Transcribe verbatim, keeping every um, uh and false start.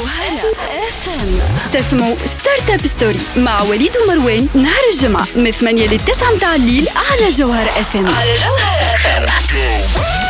جوهرة اف ام. تسمعوا ستارت اب ستوري مع وليد ومروان نهار الجمعة من ثمانية لتسعة متاع الليل على جوهرة اف ام. على جوهرة اف ام.